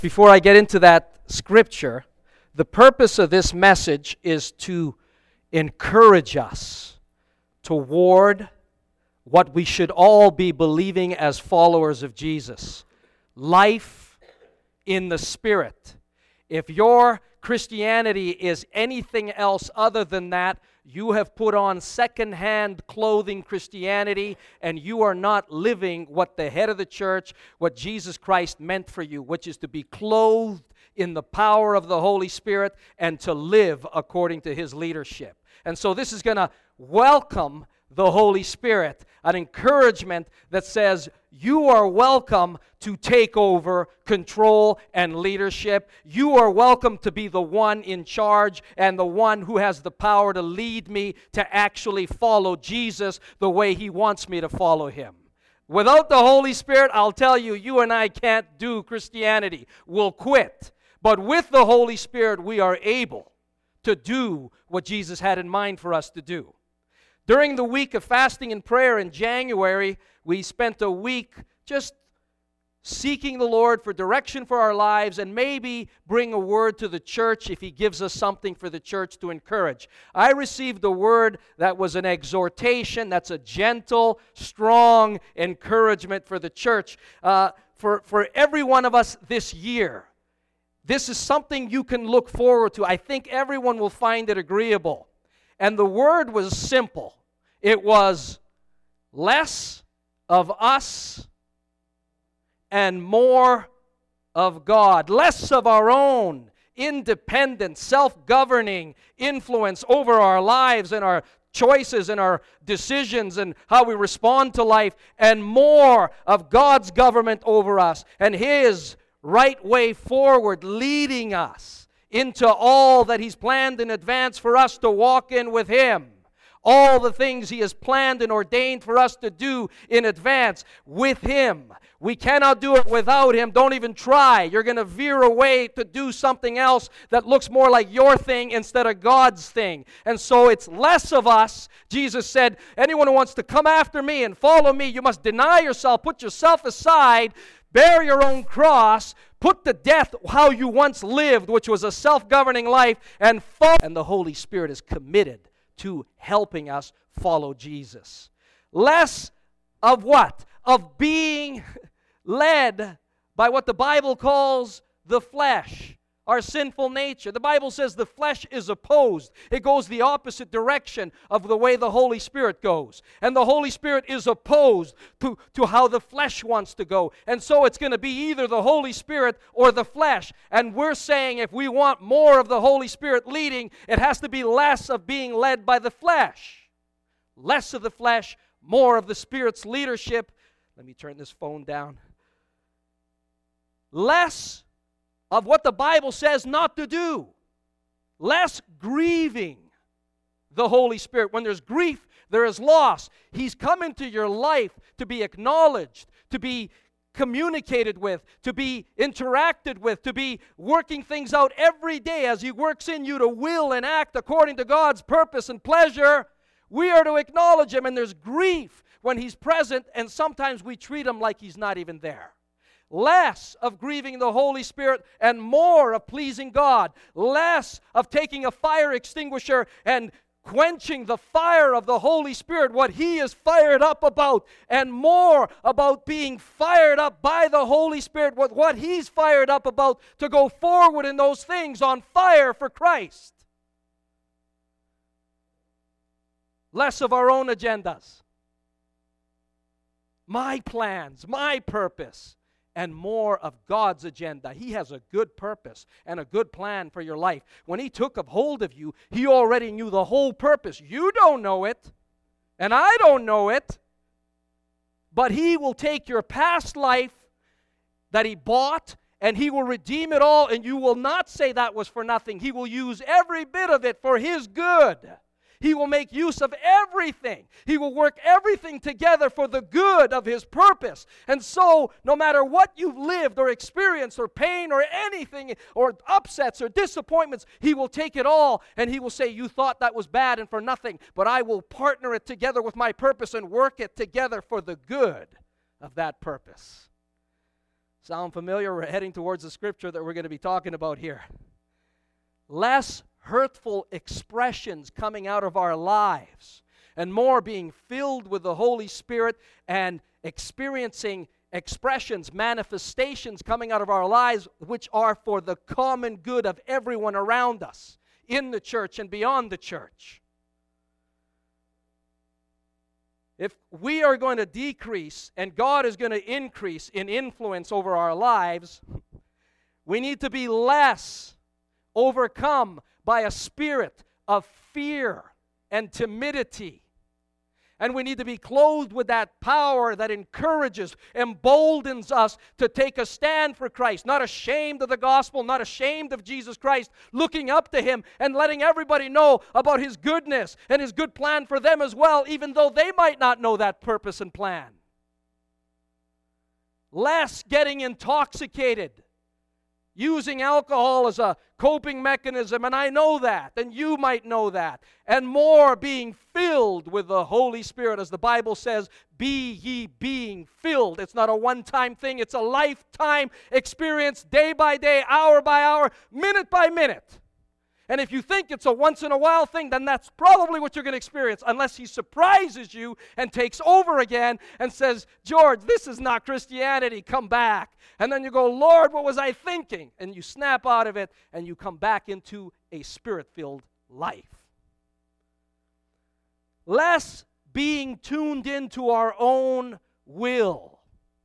Before I get into that scripture, the purpose of this message is to encourage us toward what we should all be believing as followers of Jesus. Life in the Spirit. If your Christianity is anything else other than that, you have put on second-hand clothing Christianity, and you are not living what the head of the church, what Jesus Christ meant for you, which is to be clothed in the power of the Holy Spirit and to live according to His leadership. And so this is going to welcome the Holy Spirit, an encouragement that says you are welcome to take over control and leadership. You are welcome to be the one in charge and the one who has the power to lead me to actually follow Jesus the way He wants me to follow Him. Without the Holy Spirit, I'll tell you, you and I can't do Christianity. We'll quit. But with the Holy Spirit, we are able to do what Jesus had in mind for us to do. During the week of fasting and prayer in January, we spent a week just seeking the Lord for direction for our lives and maybe bring a word to the church if He gives us something for the church to encourage. I received a word that was an exhortation, that's a gentle, strong encouragement for the church. For every one of us this year, this is something you can look forward to. I think everyone will find it agreeable. And the word was simple. It was less of us and more of God. Less of our own independent, self-governing influence over our lives and our choices and our decisions and how we respond to life, and more of God's government over us and His right way forward, leading us into all that He's planned in advance for us to walk in with Him. All the things He has planned and ordained for us to do in advance with Him. We cannot do it without Him. Don't even try. You're going to veer away to do something else that looks more like your thing instead of God's thing. And so it's less of us. Jesus said, anyone who wants to come after me and follow me, you must deny yourself, put yourself aside, bear your own cross, put to death how you once lived, which was a self-governing life, and follow. And the Holy Spirit is committed to helping us follow Jesus. Less of what? Of being led by what the Bible calls the flesh, our sinful nature. The Bible says the flesh is opposed. It goes the opposite direction of the way the Holy Spirit goes. And the Holy Spirit is opposed to how the flesh wants to go. And so it's going to be either the Holy Spirit or the flesh. And we're saying if we want more of the Holy Spirit leading, it has to be less of being led by the flesh. Less of the flesh, more of the Spirit's leadership. Let me turn this phone down. Less of what the Bible says not to do. Less grieving the Holy Spirit. When there's grief, there is loss. He's come into your life to be acknowledged, to be communicated with, to be interacted with, to be working things out every day as He works in you to will and act according to God's purpose and pleasure. We are to acknowledge Him, and there's grief when He's present, and sometimes we treat Him like He's not even there. Less of grieving the Holy Spirit and more of pleasing God. Less of taking a fire extinguisher and quenching the fire of the Holy Spirit, what He is fired up about, and more about being fired up by the Holy Spirit with what He's fired up about to go forward in those things on fire for Christ. Less of our own agendas. My plans, my purpose. And more of God's agenda. He has a good purpose and a good plan for your life. When He took a hold of you, He already knew the whole purpose. You don't know it, and I don't know it, but He will take your past life that He bought, and He will redeem it all, and you will not say that was for nothing. He will use every bit of it for His good. He will make use of everything. He will work everything together for the good of His purpose. And so, no matter what you've lived or experienced or pain or anything or upsets or disappointments, He will take it all and He will say, you thought that was bad and for nothing, but I will partner it together with my purpose and work it together for the good of that purpose. Sound familiar? We're heading towards the scripture that we're going to be talking about here. Less hurtful expressions coming out of our lives, and more being filled with the Holy Spirit and experiencing expressions, manifestations coming out of our lives which are for the common good of everyone around us, in the church and beyond the church. If we are going to decrease and God is going to increase in influence over our lives, we need to be less overcome by a spirit of fear and timidity. And we need to be clothed with that power that encourages, emboldens us to take a stand for Christ, not ashamed of the gospel, not ashamed of Jesus Christ, looking up to Him and letting everybody know about His goodness and His good plan for them as well, even though they might not know that purpose and plan. Less getting intoxicated, using alcohol as a coping mechanism, and I know that, and you might know that, and more being filled with the Holy Spirit. As the Bible says, be ye being filled. It's not a one-time thing, it's a lifetime experience, day by day, hour by hour, minute by minute. And if you think it's a once-in-a-while thing, then that's probably what you're going to experience, unless He surprises you and takes over again and says, George, this is not Christianity, come back. And then you go, Lord, what was I thinking? And you snap out of it, and you come back into a Spirit-filled life. Less being tuned into our own will,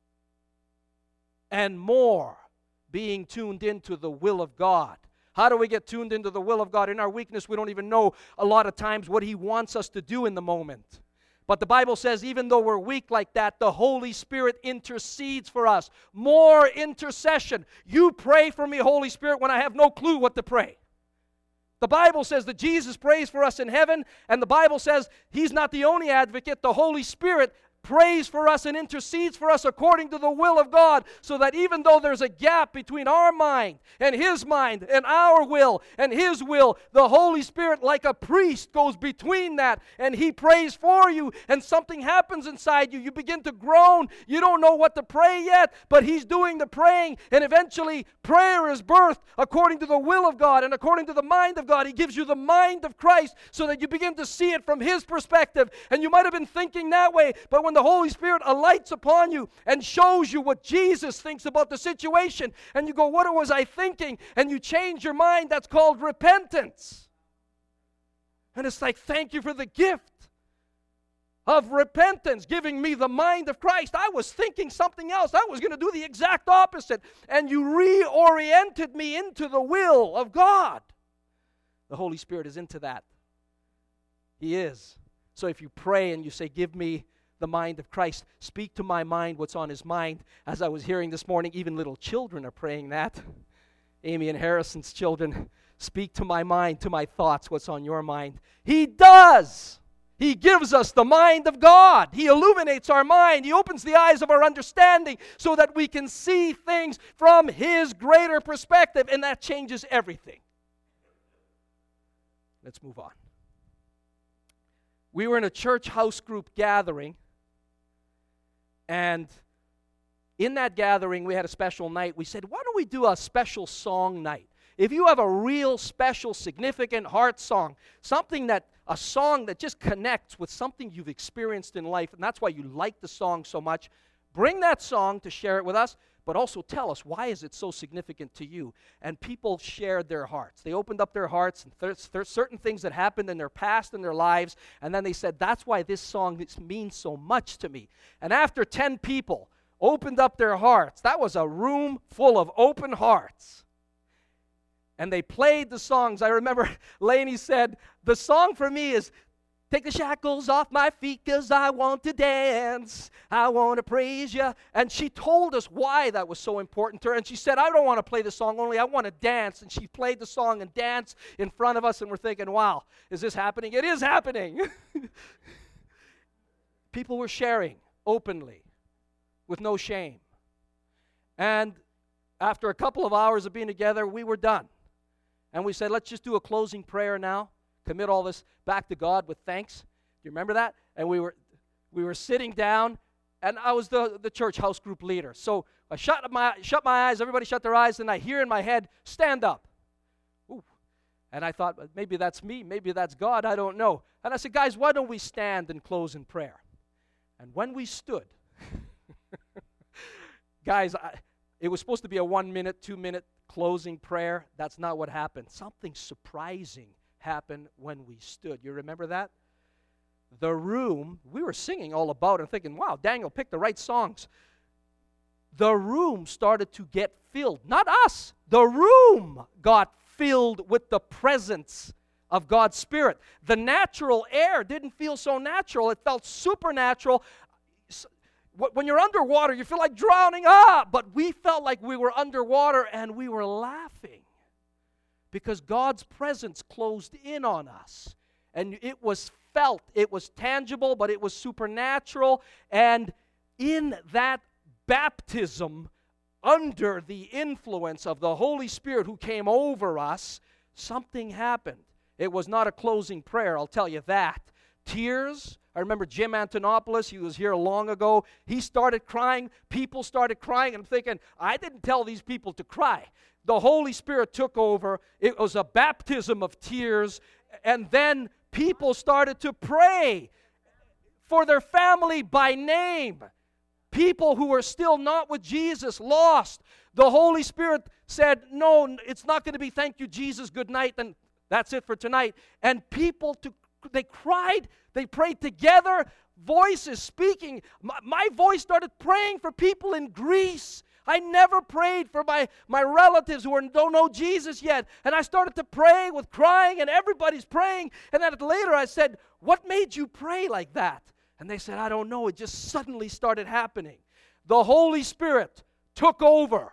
and more being tuned into the will of God. How do we get tuned into the will of God? In our weakness, we don't even know a lot of times what He wants us to do in the moment. But the Bible says even though we're weak like that, the Holy Spirit intercedes for us. More intercession. You pray for me, Holy Spirit, when I have no clue what to pray. The Bible says that Jesus prays for us in heaven, and the Bible says He's not the only advocate. The Holy Spirit prays for us and intercedes for us according to the will of God, so that even though there's a gap between our mind and His mind and our will and His will, the Holy Spirit, like a priest, goes between that, and He prays for you, and something happens inside you. You begin to groan. You don't know what to pray yet, but He's doing the praying, and eventually prayer is birthed according to the will of God and according to the mind of God. He gives you the mind of Christ so that you begin to see it from His perspective, and you might have been thinking that way, but when the Holy Spirit alights upon you and shows you what Jesus thinks about the situation, and you go, what was I thinking? And you change your mind, that's called repentance. And it's like, thank you for the gift of repentance, giving me the mind of Christ. I was thinking something else. I was going to do the exact opposite. And you reoriented me into the will of God. The Holy Spirit is into that. He is. So if you pray and you say, give me the mind of Christ, speak to my mind what's on His mind. As I was hearing this morning, even little children are praying that. Amy and Harrison's children, speak to my mind, to my thoughts, what's on your mind. He does. He gives us the mind of God. He illuminates our mind. He opens the eyes of our understanding so that we can see things from His greater perspective, and that changes everything. Let's move on. We were in a church house group gathering, and in that gathering, we had a special night. We said, why don't we do a special song night? If you have a real special, significant heart song, a song that just connects with something you've experienced in life, and that's why you like the song so much, bring that song to share it with us, but also tell us, why is it so significant to you? And people shared their hearts. They opened up their hearts, and there's certain things that happened in their past in their lives, and then they said, that's why this song means so much to me. And after 10 people opened up their hearts, that was a room full of open hearts. And they played the songs. I remember Lainey said, the song for me is, take the shackles off my feet 'cause I want to dance. I want to praise you. And she told us why that was so important to her. And she said, I don't want to play the song only, I want to dance. And she played the song and danced in front of us, and we're thinking, wow, is this happening? It is happening. People were sharing openly with no shame. And after a couple of hours of being together, we were done. And we said, let's just do a closing prayer now. Commit all this back to God with thanks. Do you remember that? And we were sitting down, and I was the church house group leader. So I shut my eyes, everybody shut their eyes, and I hear in my head, stand up. Ooh. And I thought, maybe that's me, maybe that's God, I don't know. And I said, guys, why don't we stand and close in prayer? And when we stood, guys, it was supposed to be a 1 minute, 2 minute closing prayer. That's not what happened. Something surprising happened when we stood. You remember that? The room, we were singing all about it and thinking, wow, Daniel picked the right songs. The room started to get filled. Not us. The room got filled with the presence of God's Spirit. The natural air didn't feel so natural. It felt supernatural. When you're underwater, you feel like drowning. But we felt like we were underwater and we were laughing because God's presence closed in on us. And it was felt. It was tangible, but it was supernatural. And in that baptism, under the influence of the Holy Spirit who came over us, something happened. It was not a closing prayer, I'll tell you that. Tears. I remember Jim Antonopoulos, he was here long ago. He started crying. People started crying. And I'm thinking, I didn't tell these people to cry. The Holy Spirit took over. It was a baptism of tears. And then people started to pray for their family by name. People who were still not with Jesus, lost. The Holy Spirit said, no, it's not going to be thank you, Jesus, good night, and that's it for tonight. And people, they cried, they prayed together, voices speaking. My voice started praying for people in Greece. I never prayed for my relatives who don't know Jesus yet. And I started to pray with crying, and everybody's praying. And then later I said, what made you pray like that? And they said, I don't know. It just suddenly started happening. The Holy Spirit took over.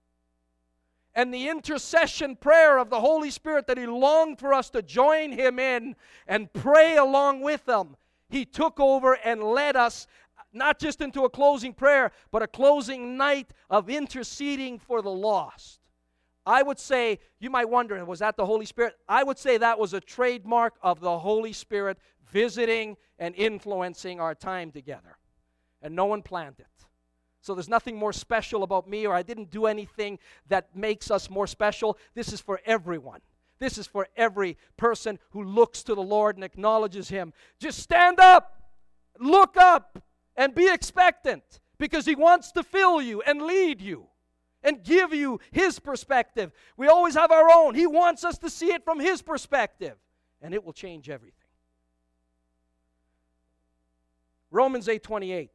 And the intercession prayer of the Holy Spirit that He longed for us to join Him in and pray along with Him, He took over and led us not just into a closing prayer, but a closing night of interceding for the lost. I would say, you might wonder, was that the Holy Spirit? I would say that was a trademark of the Holy Spirit visiting and influencing our time together. And no one planned it. So there's nothing more special about me, or I didn't do anything that makes us more special. This is for everyone. This is for every person who looks to the Lord and acknowledges Him. Just stand up, look up, and be expectant, because He wants to fill you and lead you and give you His perspective. We always have our own. He wants us to see it from His perspective, and it will change everything. Romans 8:28.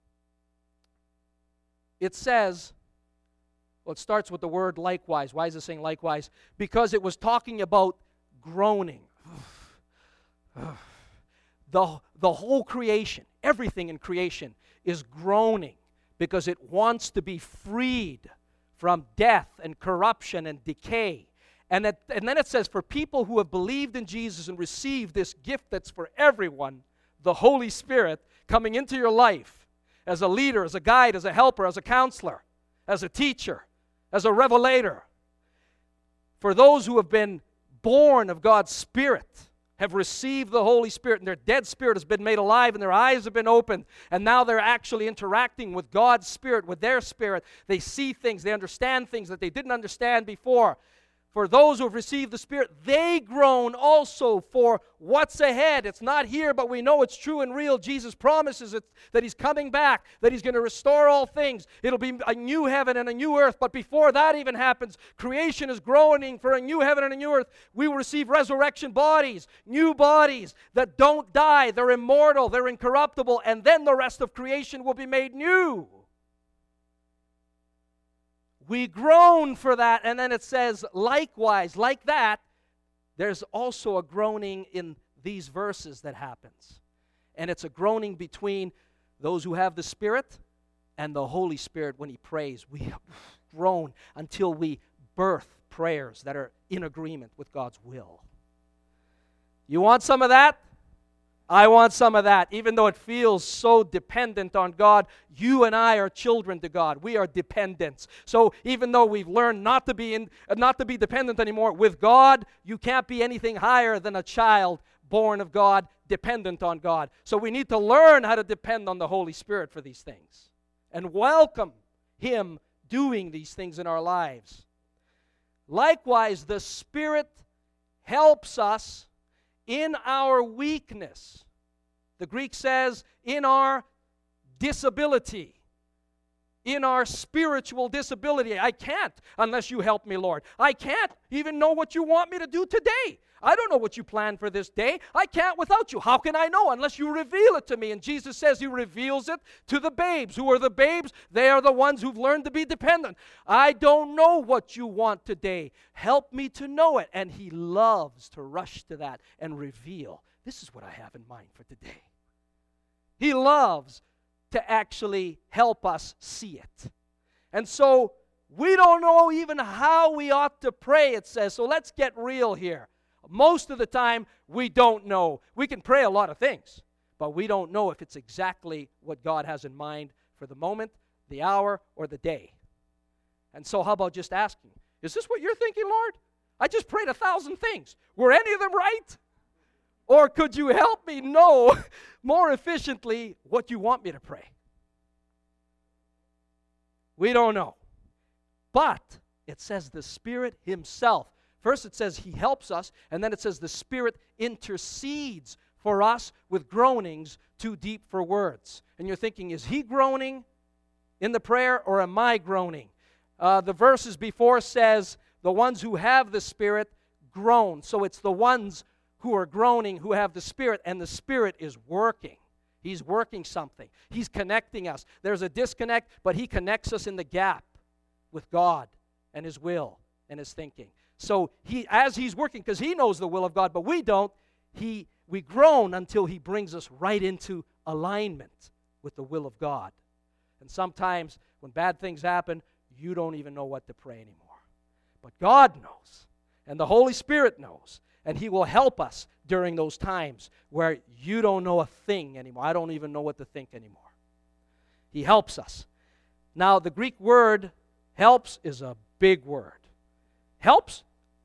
It says, well, it starts with the word likewise. Why is it saying likewise? Because it was talking about groaning. The whole creation, everything in creation is groaning because it wants to be freed from death and corruption and decay. And then it says, for people who have believed in Jesus and received this gift that's for everyone, the Holy Spirit coming into your life, as a leader, as a guide, as a helper, as a counselor, as a teacher, as a revelator. For those who have been born of God's Spirit, have received the Holy Spirit, and their dead spirit has been made alive, and their eyes have been opened, and now they're actually interacting with God's Spirit, with their spirit. They see things, they understand things that they didn't understand before. For those who have received the Spirit, they groan also for what's ahead. It's not here, but we know it's true and real. Jesus promises it, that He's coming back, that He's going to restore all things. It'll be a new heaven and a new earth. But before that even happens, creation is groaning for a new heaven and a new earth. We will receive resurrection bodies, new bodies that don't die. They're immortal, they're incorruptible, and then the rest of creation will be made new. We groan for that, and then it says, likewise, like that, there's also a groaning in these verses that happens. And it's a groaning between those who have the Spirit and the Holy Spirit when He prays. We groan until we birth prayers that are in agreement with God's will. You want some of that? I want some of that. Even though it feels so dependent on God, you and I are children to God. We are dependents. So even though we've learned not to be dependent anymore, with God, you can't be anything higher than a child born of God, dependent on God. So we need to learn how to depend on the Holy Spirit for these things and welcome Him doing these things in our lives. Likewise, the Spirit helps us in our weakness. The Greek says, in our disability, in our spiritual disability. I can't unless you help me, Lord. I can't even know what you want me to do today. I don't know what you plan for this day. I can't without you. How can I know unless you reveal it to me? And Jesus says he reveals it to the babes. Who are the babes? They are the ones who've learned to be dependent. I don't know what you want today. Help me to know it. And he loves to rush to that and reveal, this is what I have in mind for today. He loves to actually help us see it. And so we don't know even how we ought to pray, it says. So let's get real here. Most of the time, we don't know. We can pray a lot of things, but we don't know if it's exactly what God has in mind for the moment, the hour, or the day. And so how about just asking, is this what you're thinking, Lord? I just prayed 1,000 things. Were any of them right? Or could you help me know more efficiently what you want me to pray? We don't know. But it says the Spirit himself. First it says he helps us, and then it says the Spirit intercedes for us with groanings too deep for words. And you're thinking, is he groaning in the prayer, or am I groaning? The verses before says the ones who have the Spirit groan. So it's the ones who are groaning who have the Spirit, and the Spirit is working. He's working something. He's connecting us. There's a disconnect, but he connects us in the gap with God and his will and his thinking. So as he's working, because he knows the will of God, but we don't, we groan until he brings us right into alignment with the will of God. And sometimes when bad things happen, you don't even know what to pray anymore. But God knows, and the Holy Spirit knows, and he will help us during those times where you don't know a thing anymore. I don't even know what to think anymore. He helps us. Now, the Greek word helps is a big word. Helps?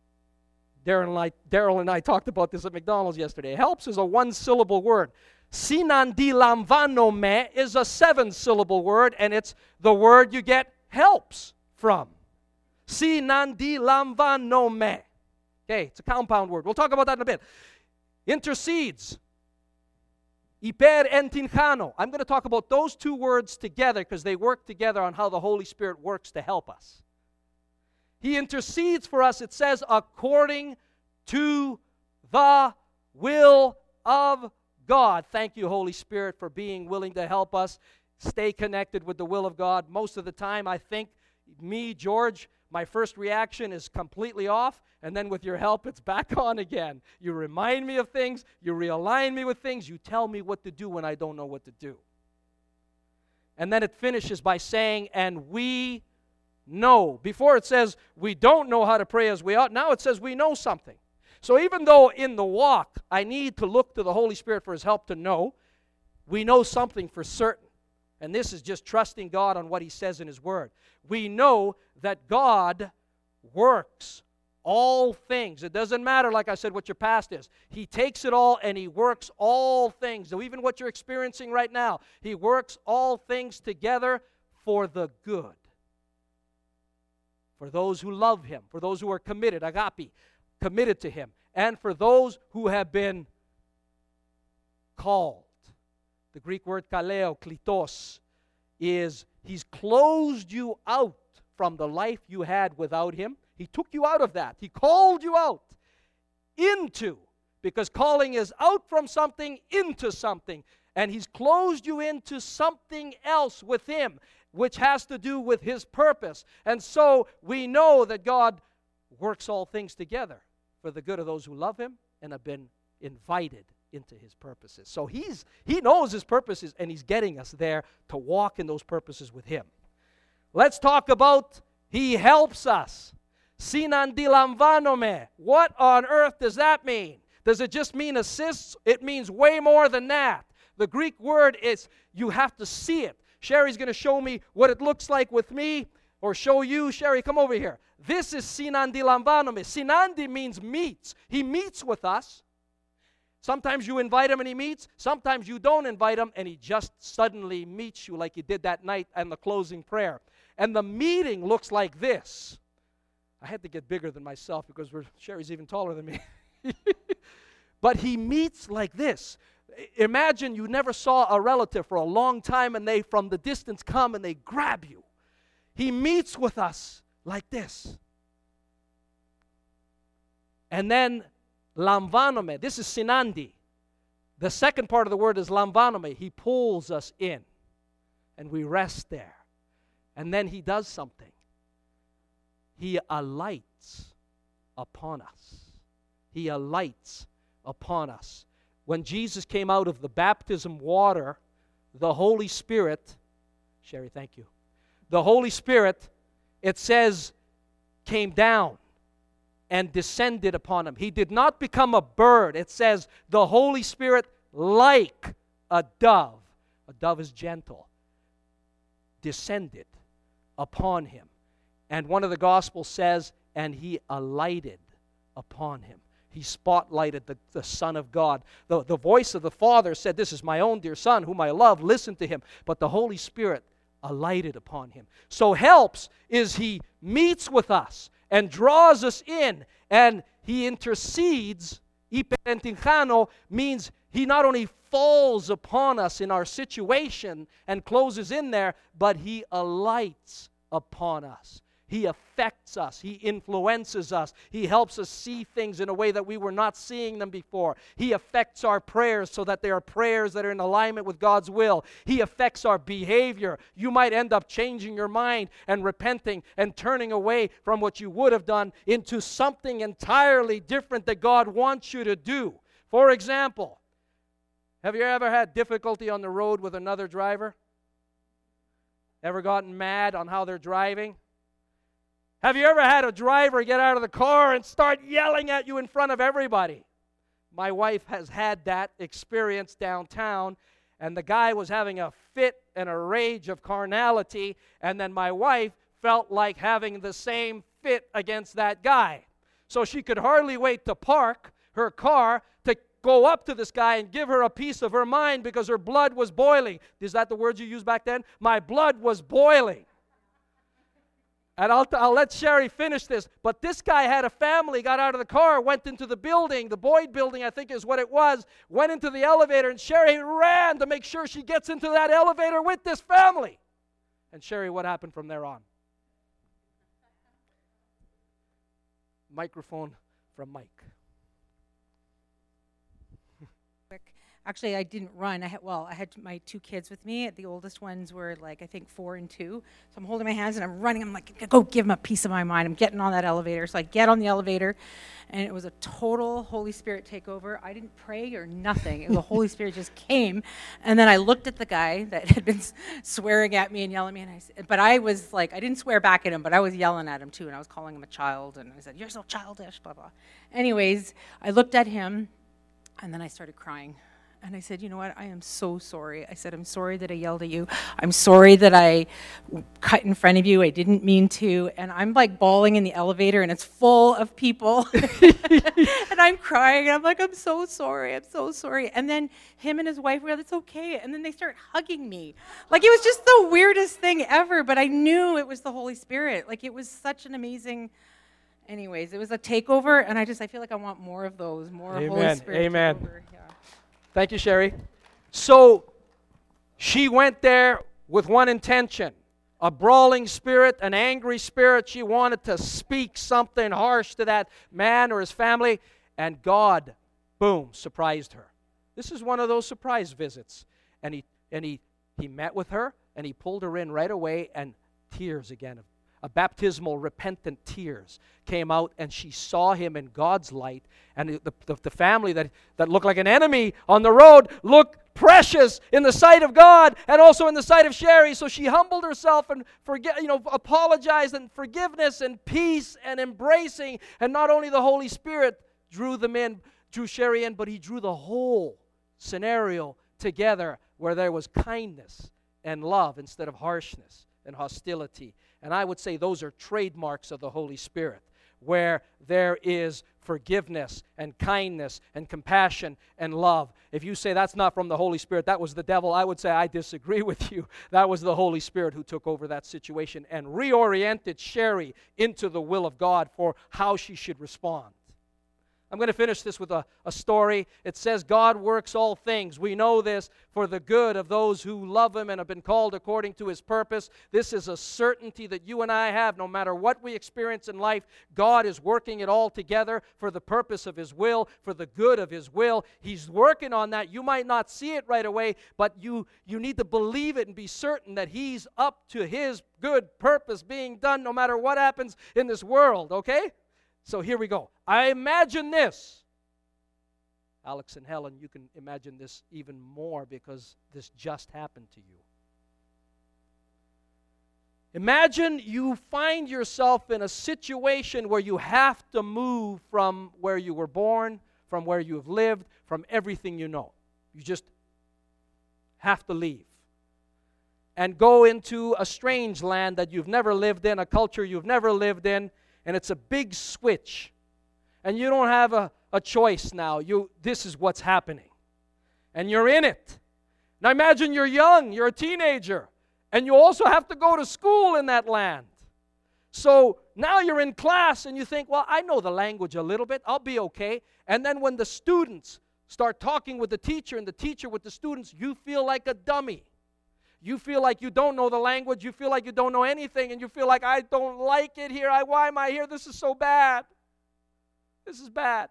Daryl and I talked about this at McDonald's yesterday. Helps is a one-syllable word. Sinandilamvanome is a 7-syllable word, and it's the word you get helps from. Sinandilamvanome. Okay, it's a compound word. We'll talk about that in a bit. Intercedes. Iper entinjano. I'm going to talk about those two words together because they work together on how the Holy Spirit works to help us. He intercedes for us, it says, according to the will of God. Thank you, Holy Spirit, for being willing to help us stay connected with the will of God. Most of the time, I think, George, my first reaction is completely off, and then with your help, it's back on again. You remind me of things, you realign me with things, you tell me what to do when I don't know what to do. And then it finishes by saying, and we know. Before it says we don't know how to pray as we ought. Now it says we know something. So even though in the walk I need to look to the Holy Spirit for his help to know, we know something for certain. And this is just trusting God on what he says in his word. We know that God works all things. It doesn't matter, like I said, what your past is. He takes it all and he works all things. So even what you're experiencing right now, he works all things together for the good. For those who love him, for those who are committed, agape, committed to him, and for those who have been called. The Greek word kaleo, klitos, is he's closed you out from the life you had without him. He took you out of that. He called you out into, because calling is out from something into something. And he's closed you into something else with him, which has to do with his purpose. And so we know that God works all things together for the good of those who love him and have been invited into his purposes. So he knows his purposes, and he's getting us there to walk in those purposes with him. Let's talk about he helps us. Sinandilamvanome. What on earth does that mean? Does it just mean assists? It means way more than that. The Greek word is, you have to see it. Sherry's going to show me what it looks like with me, or show you. Sherry, come over here. This is sinandilamvanome. Sinandi means meets. He meets with us. Sometimes you invite him and he meets. Sometimes you don't invite him and he just suddenly meets you like he did that night in the closing prayer. and the meeting looks like this. I had to get bigger than myself because Sherry's even taller than me. But he meets like this. Imagine you never saw a relative for a long time and they from the distance come and they grab you. He meets with us like this. And then lamvanome, this is sinandi. The second part of the word is lamvanome. He pulls us in and we rest there. And then he does something. He alights upon us. He alights upon us. When Jesus came out of the baptism water, the Holy Spirit, Sherry, thank you. The Holy Spirit, it says, came down and descended upon him. He did not become a bird. It says the Holy Spirit, like a dove is gentle, descended upon him. And one of the Gospels says, and he alighted upon him. He spotlighted the Son of God. The voice of the Father said, this is my own dear Son, whom I love, listen to him. But the Holy Spirit alighted upon him. So helps is he meets with us and draws us in, and he intercedes. Iperentinjano means he not only falls upon us in our situation and closes in there, but he alights upon us. He affects us. He influences us. He helps us see things in a way that we were not seeing them before. He affects our prayers so that they are prayers that are in alignment with God's will. He affects our behavior. You might end up changing your mind and repenting and turning away from what you would have done into something entirely different that God wants you to do. For example, have you ever had difficulty on the road with another driver? Ever gotten mad on how they're driving? Have you ever had a driver get out of the car and start yelling at you in front of everybody? My wife has had that experience downtown, and the guy was having a fit and a rage of carnality, and then my wife felt like having the same fit against that guy. So she could hardly wait to park her car to go up to this guy and give her a piece of her mind because her blood was boiling. Is that the words you used back then? My blood was boiling. And I'll let Sherry finish this. But this guy had a family, got out of the car, went into the building, the Boyd building, I think is what it was, went into the elevator, and Sherry ran to make sure she gets into that elevator with this family. And Sherry, what happened from there on? Microphone from Mike. Actually, I didn't run. I had my two kids with me. The oldest ones were like, I think 4 and 2. So I'm holding my hands and I'm running. I'm like, go give them a piece of my mind. I'm getting on that elevator. So I get on the elevator, and it was a total Holy Spirit takeover. I didn't pray or nothing. The Holy Spirit just came. And then I looked at the guy that had been swearing at me and yelling at me. But I was like, I didn't swear back at him, but I was yelling at him too. And I was calling him a child. And I said, you're so childish, blah, blah. Anyways, I looked at him, and then I started crying. And I said, you know what, I am so sorry. I said, I'm sorry that I yelled at you. I'm sorry that I cut in front of you. I didn't mean to. And I'm like bawling in the elevator, and it's full of people. And I'm crying, and I'm like, I'm so sorry. I'm so sorry. And then him and his wife were like, it's okay. And then they start hugging me. Like, it was just the weirdest thing ever. But I knew it was the Holy Spirit. Like, it was such an amazing... Anyways, it was a takeover, and I feel like I want more of those, more Amen. Holy Spirit Amen. takeover. Yeah. Thank you, Sherry. So she went there with one intention, a brawling spirit, an angry spirit. She wanted to speak something harsh to that man or his family, and God, boom, surprised her. This is one of those surprise visits. And he met with her, and he pulled her in right away, and tears again, a baptismal, repentant tears came out, and she saw him in God's light. And the family that looked like an enemy on the road looked precious in the sight of God and also in the sight of Sherry. So she humbled herself and apologized, and forgiveness and peace and embracing. And not only the Holy Spirit drew Sherry in, but he drew the whole scenario together where there was kindness and love instead of harshness and hostility. And I would say those are trademarks of the Holy Spirit, where there is forgiveness and kindness and compassion and love. If you say that's not from the Holy Spirit, that was the devil, I would say I disagree with you. That was the Holy Spirit who took over that situation and reoriented Sherry into the will of God for how she should respond. I'm going to finish this with a story. It says, God works all things. We know this for the good of those who love Him and have been called according to His purpose. This is a certainty that you and I have. No matter what we experience in life, God is working it all together for the purpose of His will, for the good of His will. He's working on that. You might not see it right away, but you need to believe it and be certain that He's up to His good purpose being done no matter what happens in this world, okay? So here we go. I imagine this. Alex and Helen, you can imagine this even more because this just happened to you. Imagine you find yourself in a situation where you have to move from where you were born, from where you have lived, from everything you know. You just have to leave and go into a strange land that you've never lived in, a culture you've never lived in. And it's a big switch. And you don't have a choice now. This is what's happening. And you're in it. Now imagine you're young, you're a teenager, and you also have to go to school in that land. So now you're in class and you think, well, I know the language a little bit, I'll be okay. And then when the students start talking with the teacher and the teacher with the students, you feel like a dummy. You feel like you don't know the language. You feel like you don't know anything. And you feel like, I don't like it here. Why am I here? This is so bad. This is bad.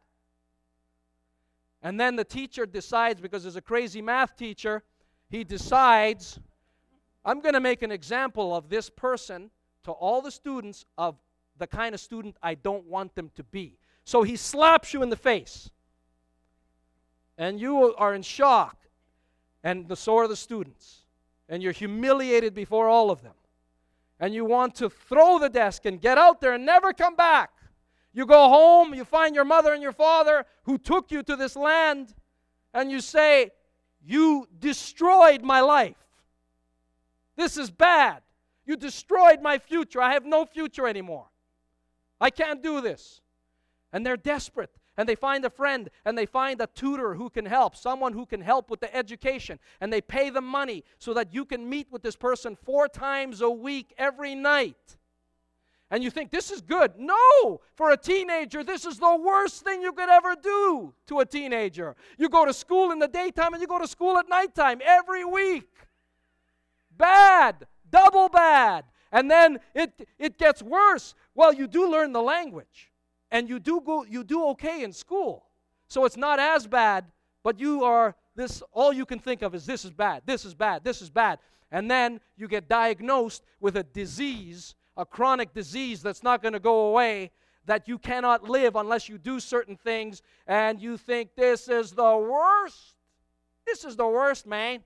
And then the teacher decides, because there's a crazy math teacher, he decides, I'm going to make an example of this person to all the students of the kind of student I don't want them to be. So he slaps you in the face. And you are in shock. And so are the students. And you're humiliated before all of them. And you want to throw the desk and get out there and never come back. You go home, you find your mother and your father who took you to this land, and you say, you destroyed my life. This is bad. You destroyed my future. I have no future anymore. I can't do this. And they're desperate. And they find a friend, and they find a tutor who can help, someone who can help with the education, and they pay them money so that you can meet with this person 4 times a week, every night. And you think, this is good. No! For a teenager, this is the worst thing you could ever do to a teenager. You go to school in the daytime, and you go to school at nighttime every week. Bad! Double bad! And then it gets worse. Well, you do learn the language. And you do okay in school. So it's not as bad, but all you can think of is this is bad, this is bad, this is bad. And then you get diagnosed with a disease, a chronic disease that's not going to go away, that you cannot live unless you do certain things, and you think this is the worst. This is the worst, man.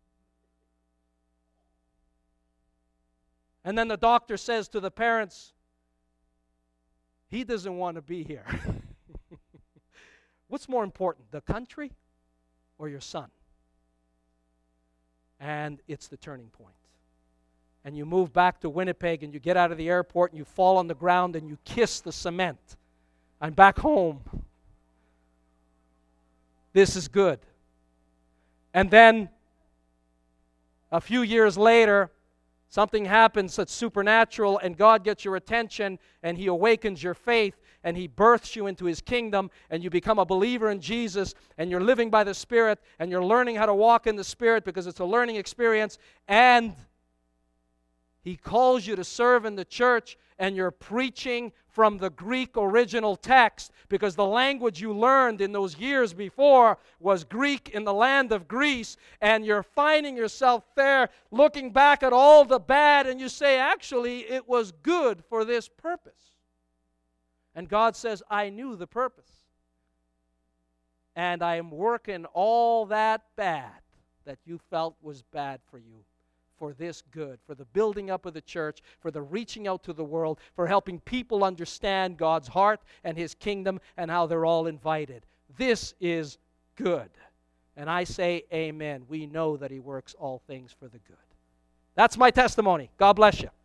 And then the doctor says to the parents, he doesn't want to be here. What's more important, the country or your son? And it's the turning point. And you move back to Winnipeg and you get out of the airport and you fall on the ground and you kiss the cement. I'm back home. This is good. And then a few years later, something happens that's supernatural, and God gets your attention, and He awakens your faith, and He births you into His kingdom, and you become a believer in Jesus, and you're living by the Spirit, and you're learning how to walk in the Spirit because it's a learning experience, and He calls you to serve in the church, and you're preaching from the Greek original text because the language you learned in those years before was Greek in the land of Greece, and you're finding yourself there looking back at all the bad, and you say, actually, it was good for this purpose. And God says, I knew the purpose. And I am working all that bad that you felt was bad for you, for this good, for the building up of the church, for the reaching out to the world, for helping people understand God's heart and His kingdom and how they're all invited. This is good. And I say amen. We know that He works all things for the good. That's my testimony. God bless you.